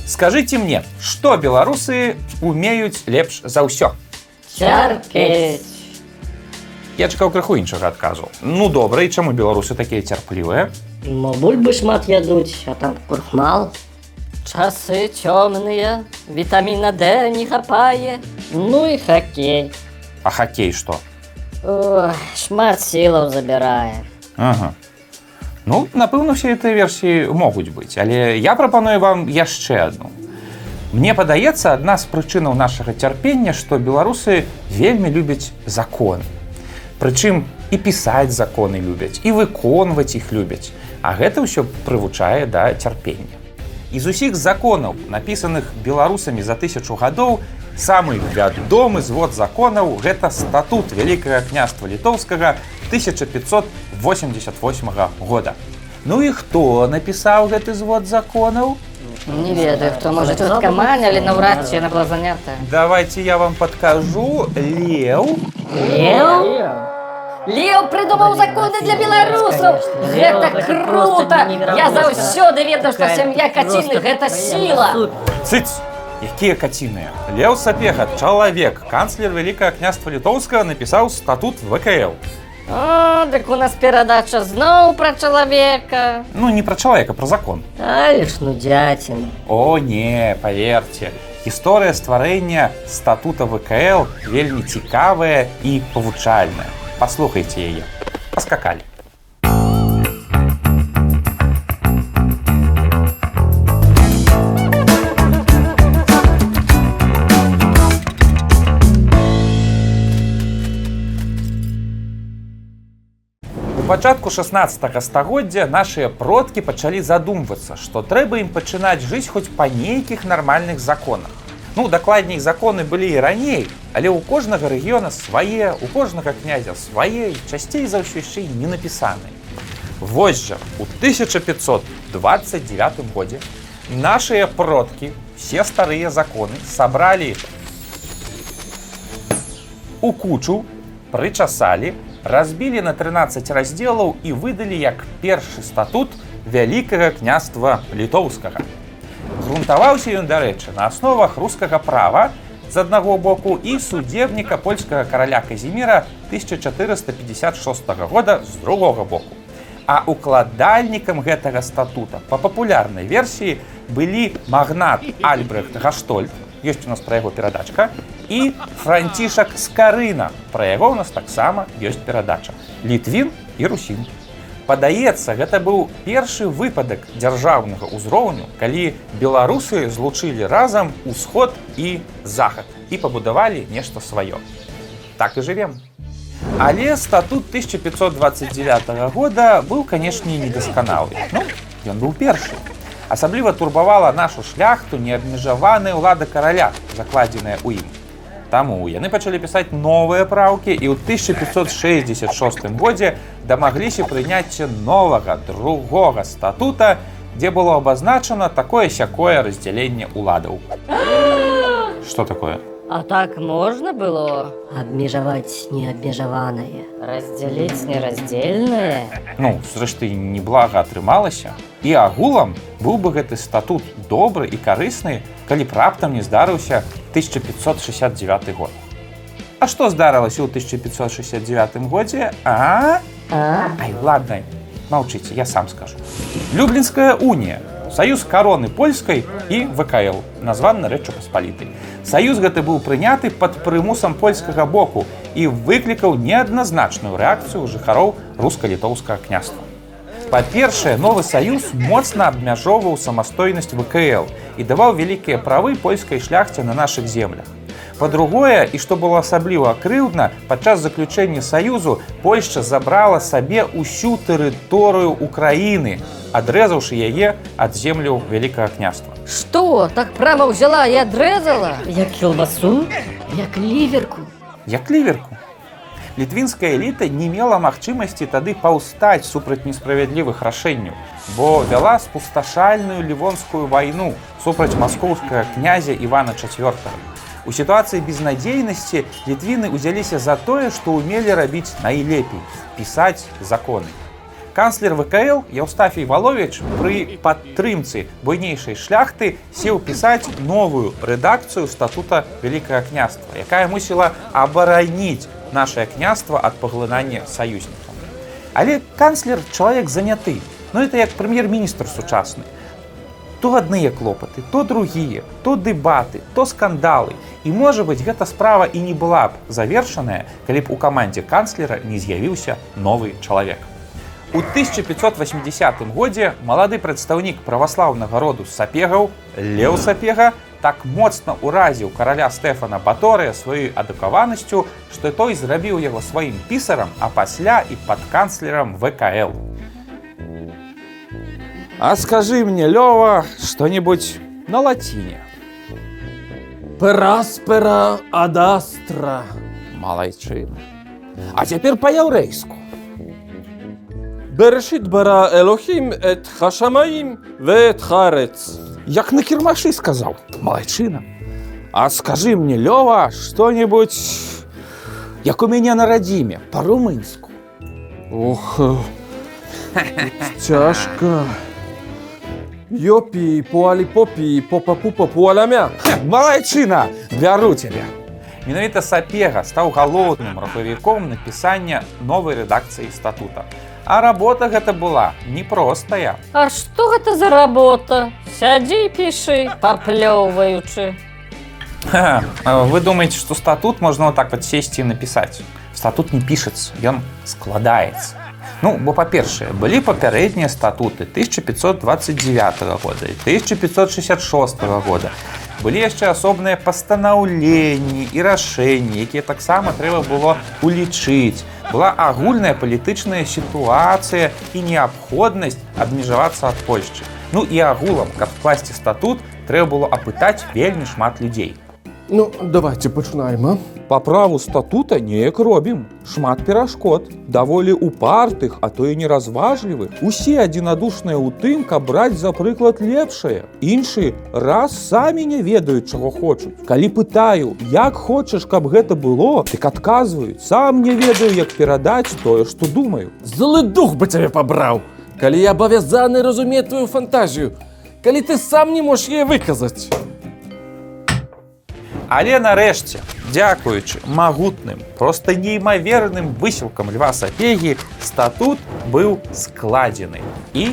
Скажите мне, что белорусы умеют лепш за ўсё? Цярпець. Я чакаў крыху іншага адказу. Ну добра, і чаму беларусы такія цярплівыя? Мо бульбы шмат ядуць, а там крухмал. Часы цёмныя, вітаміна Д не хапае. Ну і хакей. А хакей што? Ой, шмат сілаў забірае. Ага. Ну, напэўна, все гэтыя версіі могуць быць, але я прапаную вам яшчэ адну. Мне падаецца, адна з прычынаў нашага цярпення, што беларусы вельмі любяць законы. Прычым і пісаць законы любяць, і выконваць іх любяць. А гэта ўсё прывучае да цярпення. З усіх законаў, напісаных беларусамі за 1000 гадоў, самы вядомы звод законаў – гэта статут Вялікага княства Літоўскага 1588 года. Ну і хто напісаў гэты звод законаў? Не ведаю, хто, можа, тётка Маня, але наўрад ці яна была занята. Давайте я вам падкажу. Леў. Леў? Леў прыдумаў законы для беларусаў! Гэта крута! Я заўсёды ведаў, што сям'я каціных – гэта сіла! Цыц! Якія каціныя? Леў Сапега, чалавек, канцлер Вялікага княства Літоўскага, напісаў статут ВКЛ. О, дык у нас перадача зноў пра чалавека. Ну, не пра чалавека, пра закон. Але ж ну дзяцін. О, не, паверце. Гісторыя стварэння статута ВКЛ вельмі цікавая і павучальная. Паслухайце яе. Паскакалі. У пачатку 16 стагоддзя нашыя продкі пачалі задумвацца, што трэба ім пачынаць жыць хоць па нейкіх нармальных законах. Ну, дакладней, законы былі і раней, але ў кожнага рэгіёна свае, у кожнага князя свае, і часцей за ўсё яшчэ і не напісаныя. Вось жа, у 1529 годзе нашыя продкі все старыя законы сабралі у кучу, прычасалі, разбілі на 13 раздзелаў і выдалі як першы статут Вялікага княства Літоўскага. Грунтаваўся ён, дарэчы, на асновах рускага права з аднаго боку і судебніка польскага караля Казіміра 1456 года з другога боку. А укладальнікам гэтага статута па папулярнай версіі былі магнат Альбрехт Гаштольд, ёсць у нас пра яго перадачка, і Францішак Скарына, пра яго ў нас таксама ёсць перадача. Літвін і русін. Падаецца, гэта быў першы выпадак дзяржаўнага ўзроўню, калі беларусы злучылі разам усход і захад і пабудавалі нешта сваё. Так і жывем. Але статут 1529 года быў, канешне, недасканалы. Ну, ён быў першы. Асабліва турбавала нашу шляхту неабмежаваная ўлада караля, закладзеная ў ім. Таму яны пачалі пісаць новыя праўкі і ў 1566 годзе дамагліся прыняцця новага, другога статута, дзе было абазначана такое-сякое раздзяленне ўладаў. Што такое? А так можна было? Абмежаваць неабмежаванае. Раздзяліць нераздзельнае? Ну, зрэшты, неблага атрымалася. І агулам быў бы гэты статут добры і карысны, калі б раптам не здарыўся 1569 год. А што здарылася ў 1569 годзе? Ай, ладно, маўчыце, я сам скажу. Люблінская унія, саюз кароны польскай і ВКЛ, названы Рэччу Паспалітай. Саюз гэты быў прыняты пад прымусам польскага боку і выклікаў неадназначную рэакцыю жыхароў руска-літоўскага княства. Па-першае, новы саюз моцна абмяжоўваў самастойнасць ВКЛ і даваў вялікія правы польскай шляхце на нашых землях. Па-другое, і што было асабліва крыўдна, падчас заключэння саюзу Польшча забрала сабе ўсю тэрыторыю Украіны, адрэзаўшы яе ад земляў Вялікага княства. Што, так прама ўзяла і адрэзала? Як кілбасу? Як ліверку? Як ліверку. Літвінская эліта не мела магчымасці тады паўстаць супраць несправядлівых рашэнняў, бо вяла спусташальную лівонскую вайну супраць маскоўскага князя Івана IV. У сітуацыі безнадзейнасці літвіны ўзяліся за тое, што ўмелі рабіць найлепей – пісаць законы. Канцлер ВКЛ Еўстафій Валовіч пры падтрымцы буйнейшай шляхты сеў пісаць новую рэдакцыю статута Вялікага княства, якая мусіла абараніць нашае княства ад паглынання саюзнікаў. Але канцлер чалавек заняты, это як прэм'ер-міністр сучасны. То адныя клопаты, то другія, то дэбаты, то скандалы. І, можа быць, гэта справа і не была б завершаная, калі б у камандзе канцлера не з'явіўся новы чалавек. У 1580 годзе малады прадстаўнік праваслаўнага роду сапегаў Леў Сапега так моцна ўразіў караля Стэфана Баторыя сваёй адукаванасцю, што той зрабіў яго сваім пісарам, а пасля і падканцлерам ВКЛ. А скажи мне, Лёва, что-нибудь на латине. Пераспера адастра. Малайчина. А теперь по-еврейску. Берешит бара Элохим эт хашамаим вет харец. Як на кирмаши сказал. Малайчина. А скажи мне, Лёва, что-нибудь, як у меня на родиме, по-румынску. Ох, тяжко. Йопі, пуалі-попі, попа-пупа, пуалямя. Малайчына, бяру цябе. Менавіта Сапега стаў галоўным рухавіком напісання новай рэдакцыі статута. А работа гэта была непростая. А што гэта за работа? Сядзі і пішы, паплёўваючы. Вы думаеце, што статут можна вот так вот сесці і напісаць? Статут не пішацца, ён складаецца. Бо, па-першае, былі папярэднія статуты 1529 года і 1566 года. Былі яшчэ асобныя пастанаўленні і рашэнні, якія таксама трэба было улічыць. Была агульная палітычная сітуацыя і неабходнасць абмежавацца ад Польшчы. І агулам, каб скласці статут, трэба было апытаць вельмі шмат людзей. Давайте пачынаем, а? Па праву статута неяк робім. Шмат перашкод, даволі упартых, а то і неразважлівых. Усе адзінадушныя ў тым, каб браць за прыклад лепшае. Іншыя раз самі не ведаюць, чаго хочуць. Калі пытаю, як хочаш, каб гэта было, дык адказваюць, сам не ведаю, як перадаць тое, што думаю. Злы дух бы цябе пабраў, калі я абавязаны разумець твою фантазію, калі ты сам не можаш яе выказаць. Але нарэшце, дзякуючы магутным, проста неймаверным высілкам Льва Сапегі, статут быў складзены. І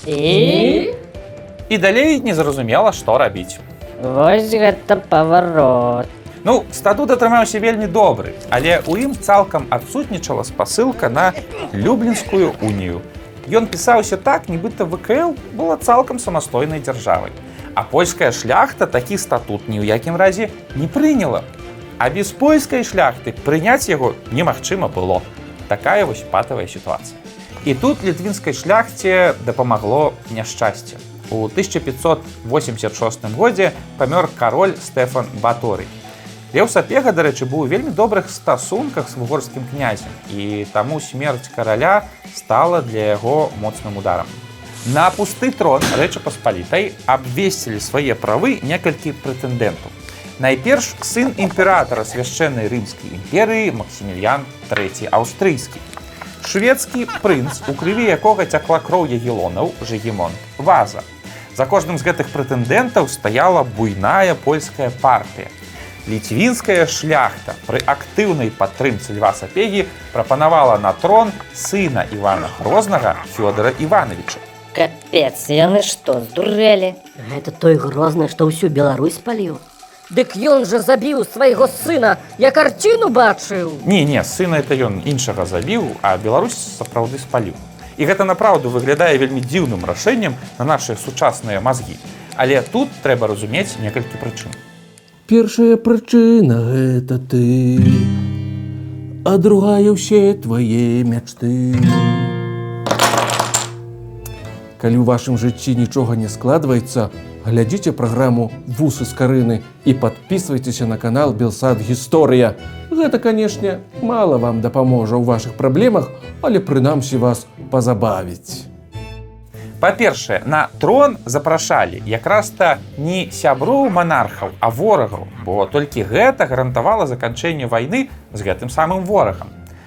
далей незразумела, што рабіць. Вось гэта паварот. Статут атрымаўся вельмі добры, але ў ім цалкам адсутнічала спасылка на Люблінскую унію. Ён пісаўся так, нібыта ВКЛ была цалкам самастойнай дзяржавай. А польская шляхта такі статут ні ў якім разе не прыняла. А без польскай шляхты прыняць яго немагчыма было. Такая вось патавая сітуацыя. І тут літвінскай шляхце дапамагло няшчасце. У 1586 годзе памёр кароль Стэфан Баторый. Леў Сапега, дарэчы, быў у вельмі добрых стасунках з вугорскім князем, і таму смерць караля стала для яго моцным ударам. На пусты трон Рэчы Паспалітай абвесцілі свае правы некалькі прэтэндэнтаў. Найперш сын імператара свяшчэннай рымскай імперыі Максіміліян III аўстрыйскі. Шведскі прынц, у крыві якога цякла кроў ягелонаў, Жыгімонт Ваза. За кожным з гэтых прэтэндэнтаў стаяла буйная польская партыя. Літвінская шляхта пры актыўнай падтрымцы Льва Сапегі прапанавала на трон сына Івана Грознага Фёдора Івановича. Капец, яны што, здурэлі? Гэта той Грозны, што ўсю Беларусь спаліў. Дык ён жа забіў свайго сына, я карціну бачыў. Не, сына это ён іншага забіў, а Беларусь сапраўды спаліў. І гэта направду выглядае вельмі дзіўным рашэннем на нашыя сучасныя мазгі. Але тут трэба разумець некалькі прычын. Першая прычына – гэта ты, а другая – ўсе твае мячты. Калі ў вашым жыцці нічога не складваецца, глядзіце праграму «Вусы з Карыны» і падпісвайцеся на канал «Белсад Гісторыя». Гэта, канешне, мала вам дапаможа ў вашых праблемах, але прынамсі вас пазабавіць. Па-першае, на трон запрашалі якраз-то не сяброў манархаў, а ворагаў, бо толькі гэта гарантавала заканчэнне вайны з гэтым самым ворагам.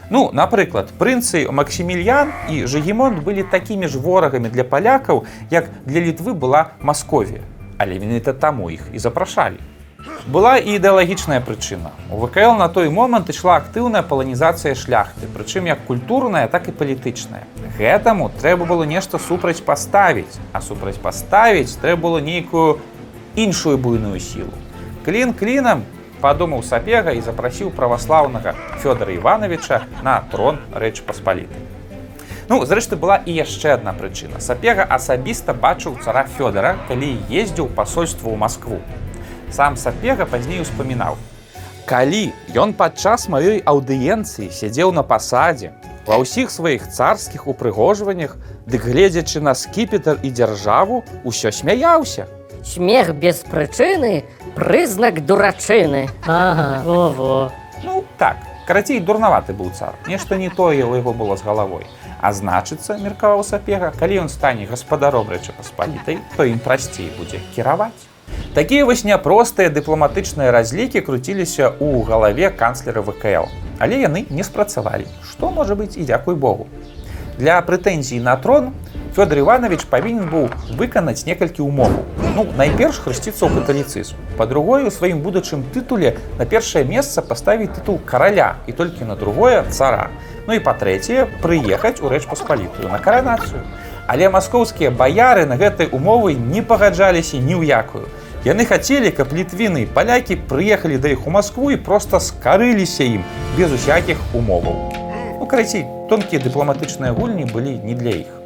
Ну, напрыклад, прынцы Максімільян і Жыгімонт былі такімі ж ворагамі для палякаў, як для Літвы была Масковія. Але менавіта таму іх і запрашалі. Была і ідэалагічная прычына. У ВКЛ на той момант ішла актыўная паланізацыя шляхты, прычым як культурная, так і палітычная. Гэтаму трэба было нешта супрацьпаставіць, а супрацьпаставіць трэба было нейкую іншую буйную сілу. Клін клінам, падумаў Сапега і запрасіў праваслаўнага Фёдара Івановича на трон Рэчы Паспалітай. Ну, зрэшты, была і яшчэ адна прычына. Сапега асабіста бачыў цара Фёдара, калі ездзіў пасольства ў Маскву. Сам Сапега пазней успамінаў: «Калі ён падчас маёй аўдыенцыі сядзеў на пасадзе, ва ўсіх сваіх царскіх упрыгожваннях, дык гледзячы на скіпетр і дзяржаву, усё смяяўся». Смех без прычыны – прызнак дурачыны. Ага, во-во. Ну, так, карацей, дурнаваты быў цар. Нешта не тое ў яго было з галавой. А значыцца, меркаваў Сапега, калі ён стане гаспадаром Рэчы Паспалітай, то ім прасцей будзе кіраваць. Такія вось няпростыя дыпламатычныя разлікі круціліся ў галаве канцлера ВКЛ. Але яны не спрацавалі, што, можа быць, і дзякуй Богу. Для прэтэнзій на трон Фёдор Іванович павінен быў выканаць некалькі умоваў. Ну, найперш хрысціцца ў каталіцызм. Па-другое, у сваім будучым тытуле на першае месца паставіць тытул караля і толькі на другое цара. Ну і па-трэцяе, прыехаць у Рэч Паспалітую на каранацыю. Але маскоўскія баяры на гэтай умовы не пагаджаліся ні ў якую. Яны хацелі, каб літвіны і палякі прыехалі да іх у Маскву і проста скарыліся ім без усякіх умоваў. Ну, карацей, тонкія дыпламатычныя гульні былі не для іх.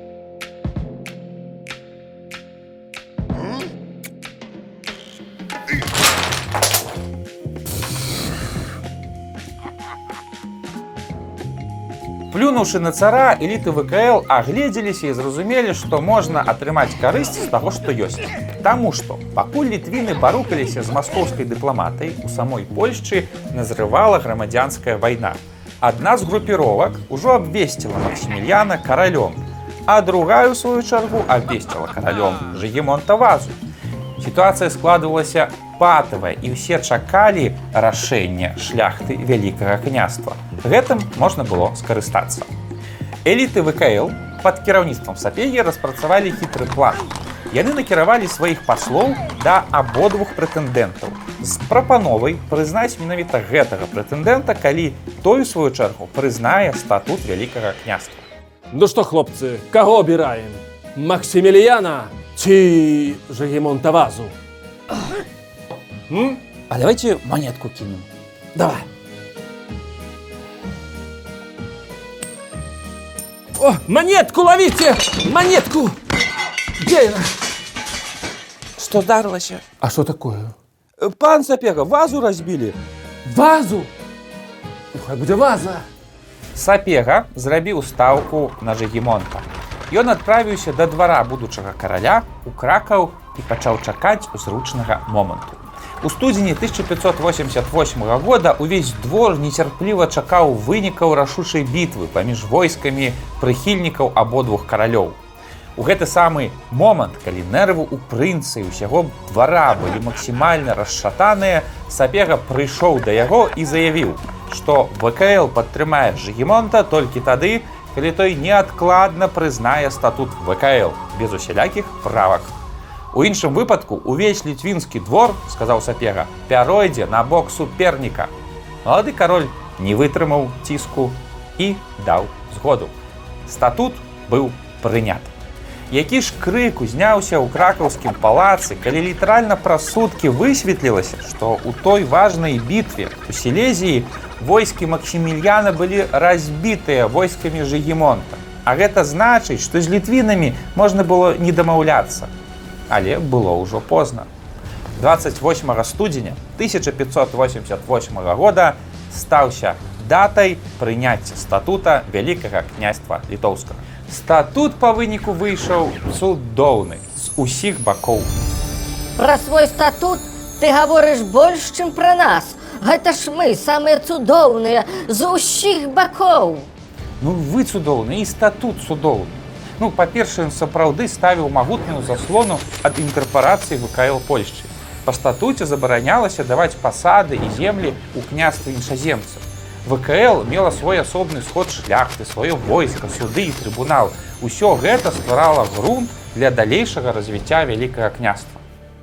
Плюнуўшы на цара, эліты ВКЛ агледзеліся і зразумелі, што можна атрымаць карысць з таго, што ёсць. Таму што, пакуль літвіны барукаліся з маскоўскай дыпламатай, у самой Польшчы назрывала грамадзянская вайна. Адна з групіровак ужо абвесціла Максімільяна каралём, а другая, у сваю чаргу, абвесціла каралём Жыгімонта Вазу. Сітуацыя складвалася патавая, і ўсе чакалі рашэння шляхты Вялікага княства. Гэтым можна было скарыстацца. Эліты ВКЛ пад кіраўніцтвам Сапегі распрацавалі хітры план. Яны накіравалі сваіх паслоў да абодвух прэтэндэнтаў з прапановай прызнаць менавіта гэтага прэтэндэнта, калі той, у сваю чаргу, прызнае статут Вялікага княства. Ну што, хлопцы, каго абіраем? Максіміліяна ці Жыгімонта Вазу? А давайте монетку кинем. Давай. О, монетку ловите! Монетку! Где она? Что здарылася? А что такое? Пан Сапега, вазу разбили. Вазу? Ну, хай будзе ваза. Сапега зрабіў стаўку на Жыгімонта. Ён адправіўся да двара будучага караля у Кракаў і пачаў чакаць зручнага моманту. У студзені 1588 года увесь двор нецярпліва чакаў вынікаў рашучай бітвы паміж войскамі прыхільнікаў абодвух каралёў. У гэты самы момант, калі нервы ў прынца і ўсяго двара былі максімальна расшатаныя, Сапега прыйшоў да яго і заявіў, што ВКЛ падтрымае Жыгімонта толькі тады, калі той неадкладна прызнае статут ВКЛ без усялякіх правак. У іншым выпадку увесь літвінскі двор, сказаў Сапега, пяройдзе на бок суперніка. Малады кароль не вытрымаў ціску і даў згоду. Статут быў прынят. Які ж крык узняўся ў кракаўскім палацы, калі літаральна праз суткі высветлілася, што ў той важнай бітве у Сілезіі войскі Максімільяна былі разбітыя войскамі Жыгімонта. А гэта значыць, што з літвінамі можна было не дамаўляцца. Але было ўжо позна. 28 студзеня 1588 года стаўся датай прыняцця статута Вялікага княства Літоўскага. Статут па выніку выйшаў цудоўны з усіх бакоў. Пра свой статут ты гаворыш больш, чым пра нас. Гэта ж мы самыя цудоўныя з усіх бакоў. Ну вы цудоўны і статут цудоўны. Ну, па-першае, ён сапраўды ставіў магутную заслону ад інкарпорацыі ВКЛ Польшчы. Па статуце забаранялася даваць пасады і землі ў княстве іншаземцаў. ВКЛ мела свой асобны сход шляхты, сваё войска, суды і трыбунал. Усё гэта стварала грунт для далейшага развіцця Вялікага княства.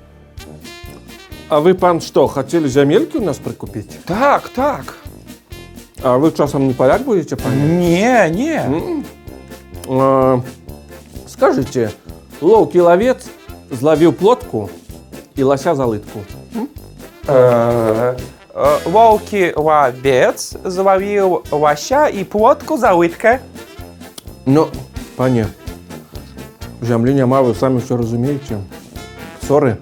А вы, пан, что, хотели земельки у нас прикупить? Так, так. А вы часом не поляк будете, пан? Не. Скажите, ловкий ловец зловил плотку и лося за лытку. Ловкий ловец зловил лося и плотку за лытка. Ну, пане, земли няма, вы сами все разумеете. Ссоры.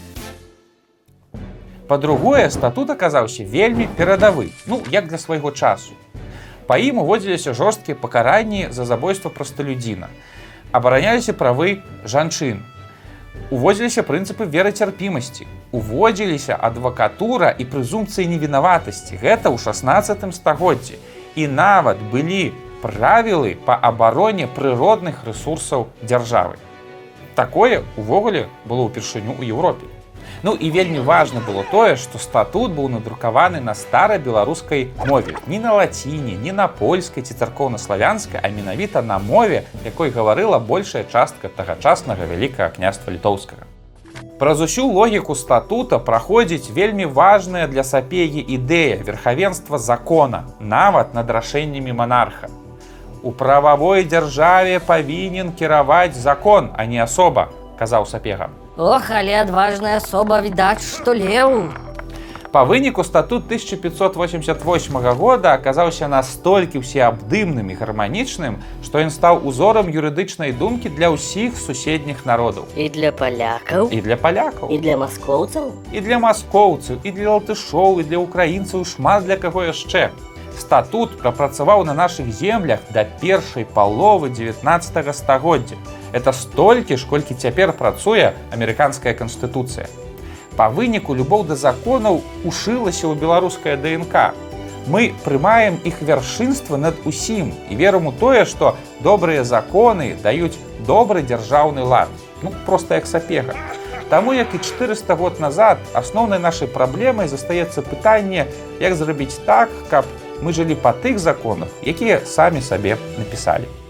Па-другое, статут аказаўся вельмі перадавы, як для свайго часу. Па ім уводзіліся жорсткія пакаранні за забойства прасталюдзіна, абараняліся правы жанчын, уводзіліся прынцыпы верацярпімасці, уводзіліся адвакатура і прэзумпцыі невінаватасці. Гэта ў 16 стагоддзі. І нават былі правілы па абароне прыродных рэсурсаў дзяржавы. Такое увогуле было ўпершыню ў Еўропе. І вельмі важна было тое, што статут быў надрукаваны на старабеларускай мове. Не на лаціне, не на польскай ці царкоўна-славянскай, а менавіта на мове, якой гаварыла большая частка тагачаснага Вялікага княства літоўскага. Праз усю логіку статута праходзіць вельмі важная для Сапегі ідэя верхавенства закона, нават над рашэннямі монарха. У прававой дзяржаве павінен кіраваць закон, а не асоба, казаў Сапега. Ох, але адважная асоба, відаць, што леў. Па выніку статут 1588 года аказаўся настолькі ўсеабдымным і гарманічным, што ён стаў узорам юрыдычнай думкі для ўсіх суседніх народаў. І для палякаў, І для палякаў, і для маскоўцаў. і для маскоўцаў, і для латышоў, і для украінцаў, шмат для каго яшчэ. Статут прапрацаваў на нашых землях да першай паловы 19 стагоддзя. Это столькі ж, колькі цяпер працуе амерыканская канстытуцыя. Па выніку любоў да законаў ушылася ў беларускае ДНК. Мы прымаем іх вяршынства над усім і верым у тое, што добрыя законы даюць добры дзяржаўны лад. Проста як Сапега. Таму, як і 400 год назад, асноўнай нашай праблемай застаецца пытанне, як зрабіць так, каб мы жылі па тых законах, якія самі сабе напісалі.